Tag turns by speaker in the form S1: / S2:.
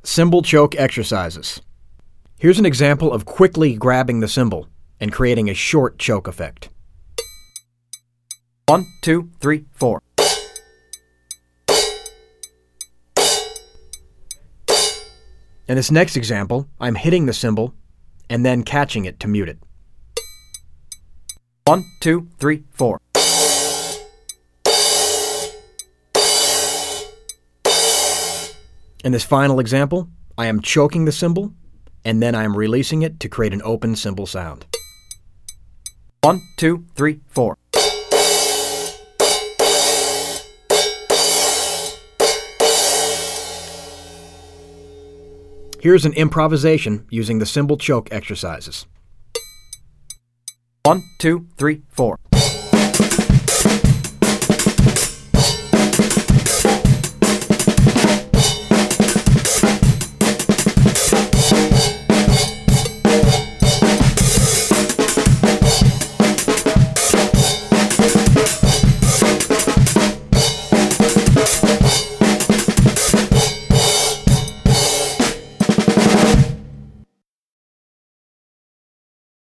S1: Cymbal choke exercises. Here's an example of quickly grabbing the cymbal and creating a short choke effect. 1, 2, 3, 4. In this next example, I'm hitting the cymbal and then catching it to mute it. 1, 2, 3, 4. In this final example, I am choking the cymbal, and then I am releasing it to create an open cymbal sound. 1, 2, 3, 4. Here's an improvisation using the cymbal choke exercises. 1, 2, 3, 4.